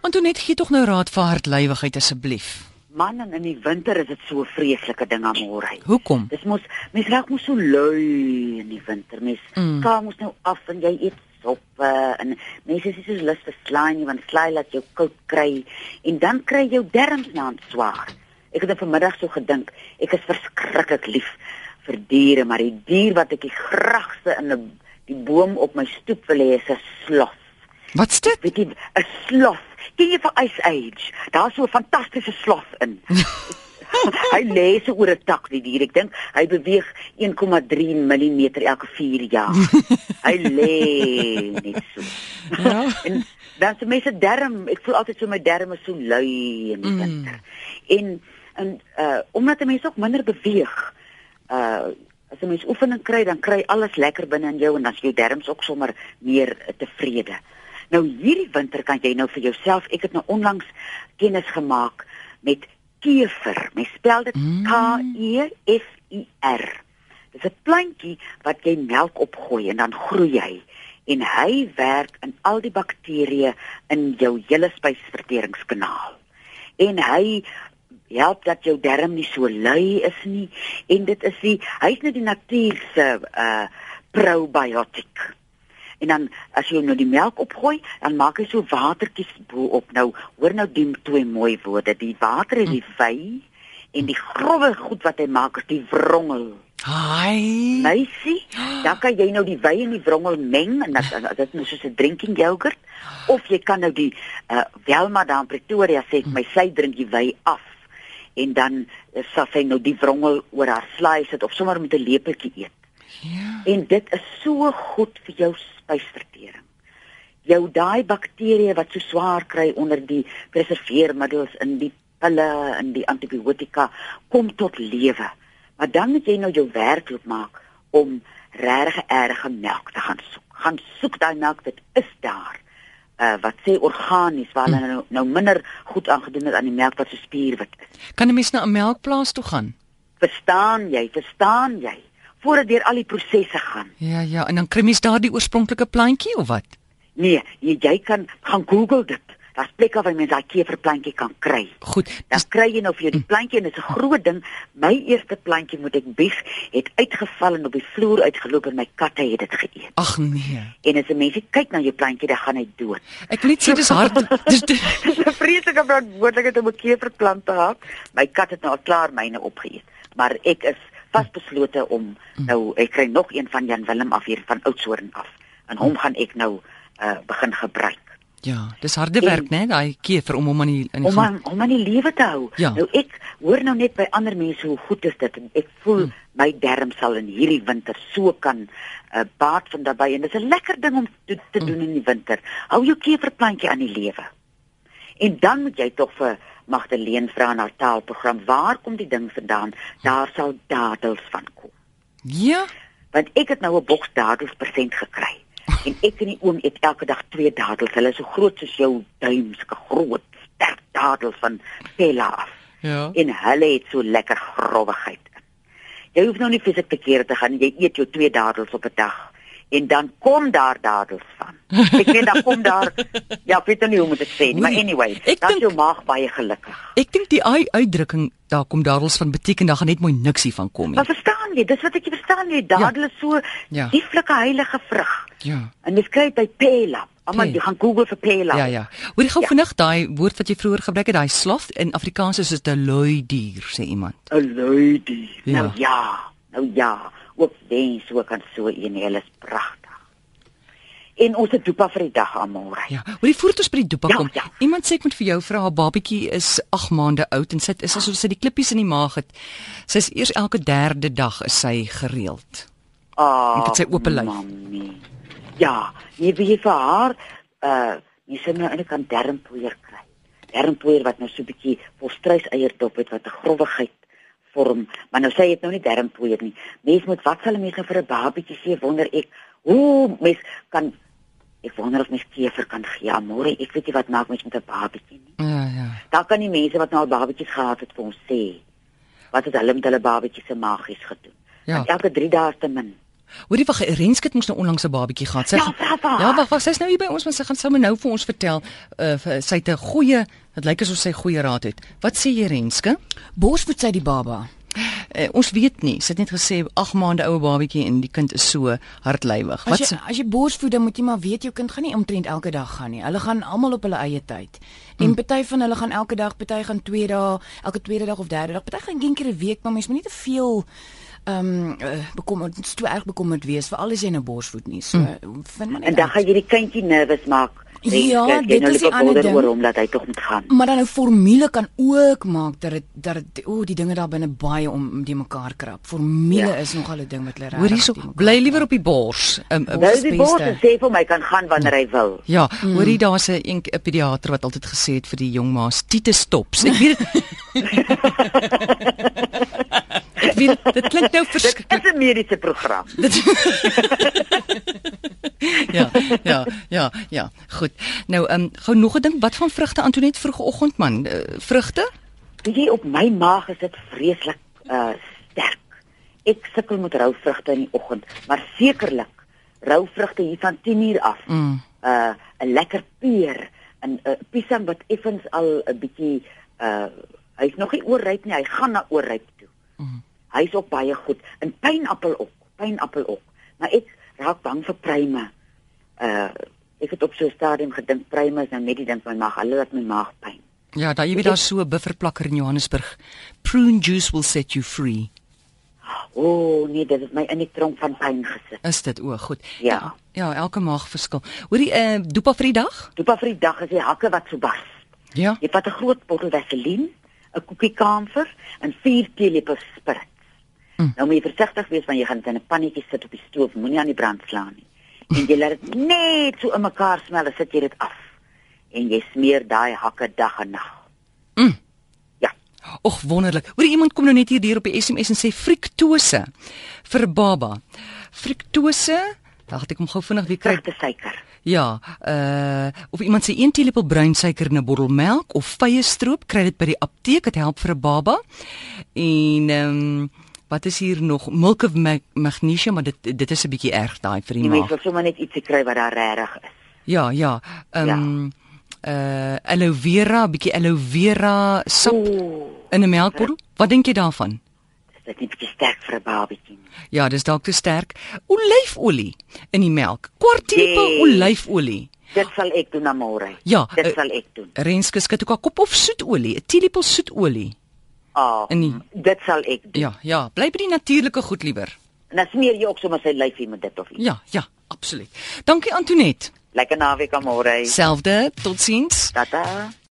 Antoinette, gee tog nou raad vir hardlywigheid asseblief. Man, en in die winter is dit so 'n vreeslike ding aan môre. Hoekom? Dis mens raak mos so lui in die winter. Mens skaam mos nou af en jy eet soppe en mense is nie so lus vir slaai nie, want slaai laat jou koud kry en dan kry jou darmes nou swaar. Ek het vanmiddag so gedink, ek is verskriklik lief vir diere, maar die dier wat ek die graagste in die boom op my stoep wil hê is 'n sloth. Wat's dit? Weet jy, 'n sloth. Ken jy vir Ice Age? Daar's so 'n fantastiese sloth in. Hy lê so oor 'n tak, die dier. Ek dink hy beweeg 1,3 mm elke 4 jaar. Hy lê net so. Ja. En dan se mense darm, ek voel altyd so my darm is so lui in die winter. En omdat 'n mens ook minder beweeg, as 'n mens oefening kry, dan kry alles lekker binne in jou en dan is jou darmes ook sommer meer tevrede. Nou hierdie winter kan jy nou vir jouself, ek het nou onlangs kennis gemaak met kever. Mens spel dit K-E-F-I-R. Dis 'n plantjie wat jy melk opgooi en dan groei hy. En hy werk in al die bakterieë in jou hele spysverteringskanaal. En hy help dat jou darm nie so lui is nie. En dit is hy's net die natuur se probiotiek. En dan as jy nou die melk opgooi, dan maak hy so watertjies bo-op. Nou, hoor nou die twee mooi woorde. Die water is die wei en die grove goed wat hy maak is die wrongel. Hi. Meisie, dan kan jy nou die wei en die wrongel meng en dit is nou soos 'n drinking yoghurt. Of jy kan nou die Welma daar in Pretoria sê my sy drink die wei af. En dan sal sy nou die wrongel oor haar slaai sit of sommer met 'n lepeltjie eet. Ja. En dit is so goed vir jou spysvertering. Jou daai bakterieë wat so swaar kry onder die preserveermiddels in die pille en die antibiotika kom tot lewe. Maar dan moet jy nou jou werkloop maak om regtig erge melk te gaan soek. Gaan soek daai melk, dit is daar. Wat sê organies, waar hulle nou minder goed aangedoen het aan die melk wat so spierwit is. Kan 'n mens na 'n melkplaas toe gaan? Verstaan jy? Voordat deur al die prosesse gaan. Ja, en dan kry mens daar die oorspronklike plantjie of wat? Nee, jy kan gaan Google dit. Daar's plekke waar mense daai keverplantjie kan kry. Goed. Dan kry jy nou vir jou die plantjie en dit is 'n groot ding. My eerste plantjie, moet ek bieg, het uitgeval en op die vloer uitgeloop en my katte het dit geëet. Ag nee. En as 'n mensie kyk na jou plantjie, dan gaan hy dood. Ek wil net sê dis hard. Dis Dis 'n vreeslike verantwoordelikheid om 'n keverplant te hê. My kat het nou al klaar myne opgeëet, maar ek is vasbeslote om nou, ek kry nog een van Jan Willem af hier van Oudtshoorn af. En hom gaan ek nou begin gebruik. Ja, dis harde werk, né, daai kever om hom aan die om aan die lewe te hou. Ja. Nou ek hoor nou net by ander mense hoe goed is dit en ek voel my darm sal in hierdie winter so kan baat van daarbey en dit is 'n lekker ding om te doen in die winter. Hou jou keverplantjie aan die lewe. En dan moet jy tog vir Magdalene vra in haar taalprogram, waar kom die ding vandaan? Daar sal dadels van kom. Ja. Want ek het nou 'n boks dadels persent gekry. En ek en die oom eet elke dag 2 dadels. Hulle is so groot soos jou duim, sulke groot, sterk dadels van Pella af. Ja. En hulle het so lekker growwigheid. Jy hoef nou nie fisiek te kere te gaan, jy eet jou 2 dadels op 'n dag. En dan kom daar dadels van. Ek weet dan kom daar, ja, ek weet nie hoe moet ek sê nie, maar anyway, dan is jou maag baie gelukkig. Ek dink die uitdrukking, daar kom dadels van beteken, daar gaan net mooi niksie van kom nie. Maar verstaan jy, dis wat ek verstaan jy, dadel is so lieflike heilige vrug. Ja. En jy kry by Pella. Almal jy gaan Google vir Pella. Ja. Hoor jy gou vinnig daai woord wat jy vroeër gebruik het, daai sloth in Afrikaans is dit 'n lui dier, sê iemand. 'n lui dier. Ja. Nou ja, ook wens ook aan so een, hulle is pragtig. En ons het dopa vir die dag almal. Ja, hoor jy voordat ons by die dopa kom. Ja. Iemand sê ek moet vir jou vra, haar babatjie is 8 maande oud en sy is asof sy die klippies in die maag het. Sy's eers elke 3de dag is sy gereeld. Ek het sy oop lyf. Mami. Ja, jy weet vir haar jy sê nou eintlik kan darmpoeier kry. Darmpoeier wat nou so 'n bietjie volstruiseierdop het wat 'n growwigheid vorm, maar nou sê jy het nou nie darmpoeier nie. Mens moet wat sal mense vir 'n babatjie sê, wonder ek. Ek wonder of mens kever kan gee. Môre, ek weet nie wat maak mens met 'n babatjie nie. Ja. Daar kan die mense wat nou al babatjies gehad het vir ons sê wat het hulle met hulle babatjies se magies gedoen. Ja. Want elke 3 dae is te min. Hoorie, wag, Renske het mos nou onlangs 'n babatjie gehad. Ja, wag, sy's nou hier by ons, maar sy gaan sommer nou vir ons vertel. Sy het 'n goeie, dit lyk asof sy goeie raad het. Wat sê jy, Renske? Borsvoed sy die baba? Ons weet nie. Sy het net gesê 8 maande oue babatjie en die kind is so hardlywig. As jy borsvoed, dan moet jy maar weet jou kind gaan nie omtrent elke dag gaan nie. Hulle gaan almal op hulle eie tyd. En party van hulle gaan elke dag, party gaan 2 dae, elke tweede dag of derde dag. Party gaan een keer 'n week, maar mens moet nie te veel bekommerd, te erg bekommerd wees, veral as jy nou borsvoed nie. So vind maar net. En dan gaan jy die kindjie nervus maak. Ja, dit is die ander ding. Omdat hy tog moet gaan. Maar dan 'n formule kan ook maak dat die dinge daar binne baie om die mekaar krap. Formule is nogal 'n ding wat hulle Hoor hierso, bly liewer op die bors. Bly die bors en sê vir my kan gaan wanneer hy wil. Ja, hoorie, daar's 'n pediater wat altyd gesê het vir die jong ma's, tiete stops. Ek weet dit klink nou verskriklik. Dit is 'n mediese program. Ja, goed. Nou, gou nog 'n ding, wat van vrugte, Antoinette, vroegoggend man? Vrugte? Weet jy, op my maag is dit vreeslik sterk. Ek sukkel met rou vrugte in die oggend, maar sekerlik rou vrugte hier van 10:00 af. 'n Lekker peer, 'n piesang wat effens al 'n bietjie hy's nog nie oorryp nie, hy gaan na oorryp toe. Hy's ook baie goed. En pynappel ook. Maar ek raak bang vir pruime. Ek het op so 'n stadium gedink pruime is nou net die ding van my maag, hulle laat my maag pyn. Ja, jy weet daar's so 'n bufferplakker in Johannesburg. Prune juice will set you free. Nee, dit het my in die tronk van pyn gesit. Is dit goed? Ja. Ja, elke maag verskil. Hoorie, dopa vir die dag? Dopa vir die dag is die hakke wat so bars. Ja. Jy vat 'n groot bottel vaseline, 'n koekie kamfer en 4 teelepels sprit. Nou moet jy versigtig wees want jy gaan dit in 'n pannetjie sit op die stoof, moenie aan die brand slaan nie. En jy laat dit net so in mekaar smel, dan sit jy dit af. En jy smeer daai hakke dag en nag. Ja. Och, wonderlik. Hoorie, iemand kom nou net hier op die SMS en sê friktose vir 'n baba. Friktose, dan het ek hom gou vinnig weer kry. Suiker. Ja, of iemand sê 1 teelepel bruin suiker in 'n bottel melk of vye stroop, kry dit by die apteek, dit help vir 'n baba. En wat is hier nog? Milk of magnesium, maar dit is 'n bietjie erg daai vir die maag. Jy moet sommer net ietsie kry wat daar regtig is. Ja. Aloe vera, bietjie aloe vera sap in 'n melkbottel. Wat dink jy daarvan? Is dit nie bietjie sterk vir 'n babatjie nie? Ja, dis dalk te sterk. Olyfolie in die melk. Kwart teelepel olyfolie. Dit sal ek doen na môre. Ja, dit sal ek doen. Renske skud ook 'n kop of soetolie, 'n teelepel soetolie. Dit sal ek doen. Ja, bly by die natuurlike goed liewer. En dan smeer jy ook sommer sy lyfie met dit of iets. Ja, absoluut. Dankie Antoinette. Lekker naweek aan môre. Selfde, totsiens. Tata.